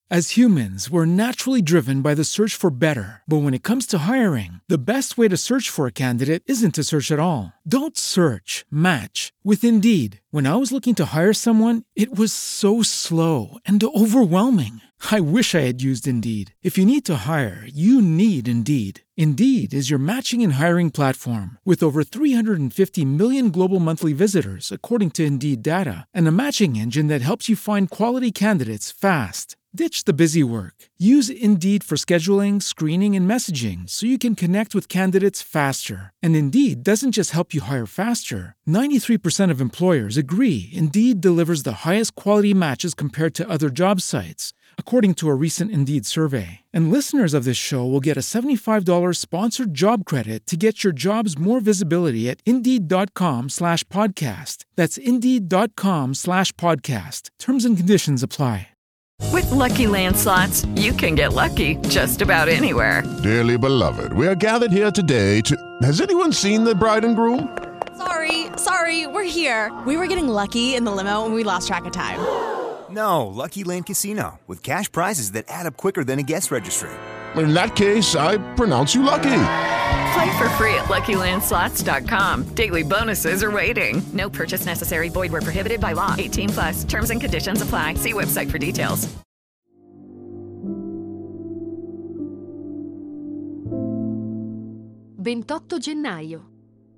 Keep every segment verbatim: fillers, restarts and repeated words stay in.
As humans, we're naturally driven by the search for better. But when it comes to hiring, the best way to search for a candidate isn't to search at all. Don't search, match with Indeed. When I was looking to hire someone, it was so slow and overwhelming. I wish I had used Indeed. If you need to hire, you need Indeed. Indeed is your matching and hiring platform with over three hundred fifty million global monthly visitors, according to Indeed data, and a matching engine that helps you find quality candidates fast. Ditch the busy work. Use Indeed for scheduling, screening, and messaging so you can connect with candidates faster. And Indeed doesn't just help you hire faster. ninety-three percent of employers agree Indeed delivers the highest quality matches compared to other job sites, according to a recent Indeed survey. And listeners of this show will get a seventy-five dollars sponsored job credit to get your jobs more visibility at Indeed.com slash podcast. That's Indeed.com slash podcast. Terms and conditions apply. With Lucky Land Slots, you can get lucky just about anywhere. Dearly beloved, we are gathered here today to... Has anyone seen the bride and groom? Sorry, sorry, we're here. We were getting lucky in the limo and we lost track of time. No, Lucky Land Casino, with cash prizes that add up quicker than a guest registry. In that case, I pronounce you lucky. Play for free at Lucky Land Slots dot com. Daily bonuses are waiting. No purchase necessary. Void where prohibited by law. eighteen plus. Terms and conditions apply. See website for details. ventotto gennaio.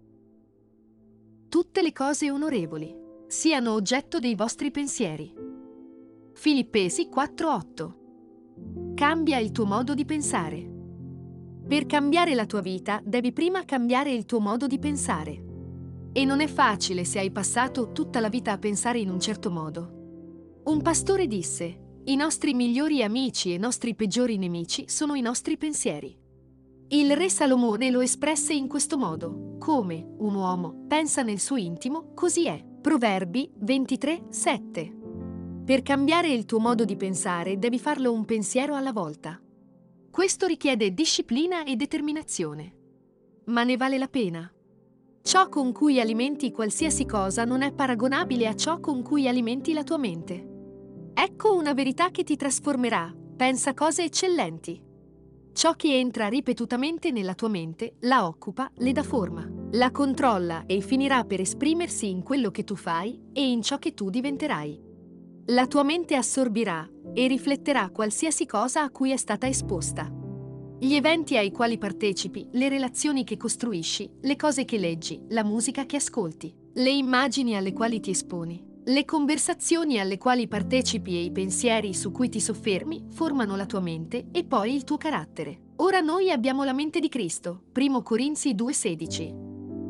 Tutte le cose onorevoli siano oggetto dei vostri pensieri. Filippesi quattro otto. Cambia il tuo modo di pensare. Per cambiare la tua vita, devi prima cambiare il tuo modo di pensare. E non è facile se hai passato tutta la vita a pensare in un certo modo. Un pastore disse: i nostri migliori amici e i nostri peggiori nemici sono i nostri pensieri. Il re Salomone lo espresse in questo modo: come un uomo pensa nel suo intimo, così è. Proverbi ventitré sette. Per cambiare il tuo modo di pensare, devi farlo un pensiero alla volta. Questo richiede disciplina e determinazione. Ma ne vale la pena. Ciò con cui alimenti qualsiasi cosa non è paragonabile a ciò con cui alimenti la tua mente. Ecco una verità che ti trasformerà. Pensa cose eccellenti. Ciò che entra ripetutamente nella tua mente, la occupa, le dà forma, la controlla e finirà per esprimersi in quello che tu fai e in ciò che tu diventerai. La tua mente assorbirà e rifletterà qualsiasi cosa a cui è stata esposta. Gli eventi ai quali partecipi, le relazioni che costruisci, le cose che leggi, la musica che ascolti, le immagini alle quali ti esponi, le conversazioni alle quali partecipi e i pensieri su cui ti soffermi formano la tua mente e poi il tuo carattere. Ora noi abbiamo la mente di Cristo. Primo Corinzi due sedici.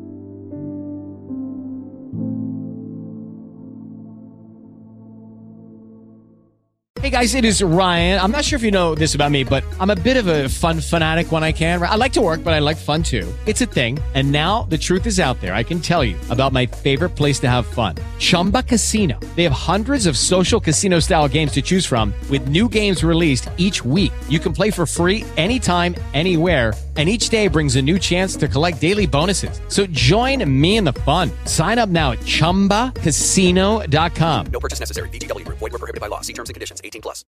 Hey guys, it is Ryan. I'm not sure if you know this about me, but I'm a bit of a fun fanatic when I can. I like to work, but I like fun too. It's a thing. And now the truth is out there. I can tell you about my favorite place to have fun. Chumba Casino. They have hundreds of social casino style games to choose from with new games released each week. You can play for free anytime, anywhere. And each day brings a new chance to collect daily bonuses. So join me in the fun. Sign up now at chumba casino dot com. No purchase necessary. V G W Group. Void where prohibited by law. See terms and conditions. eighteen plus.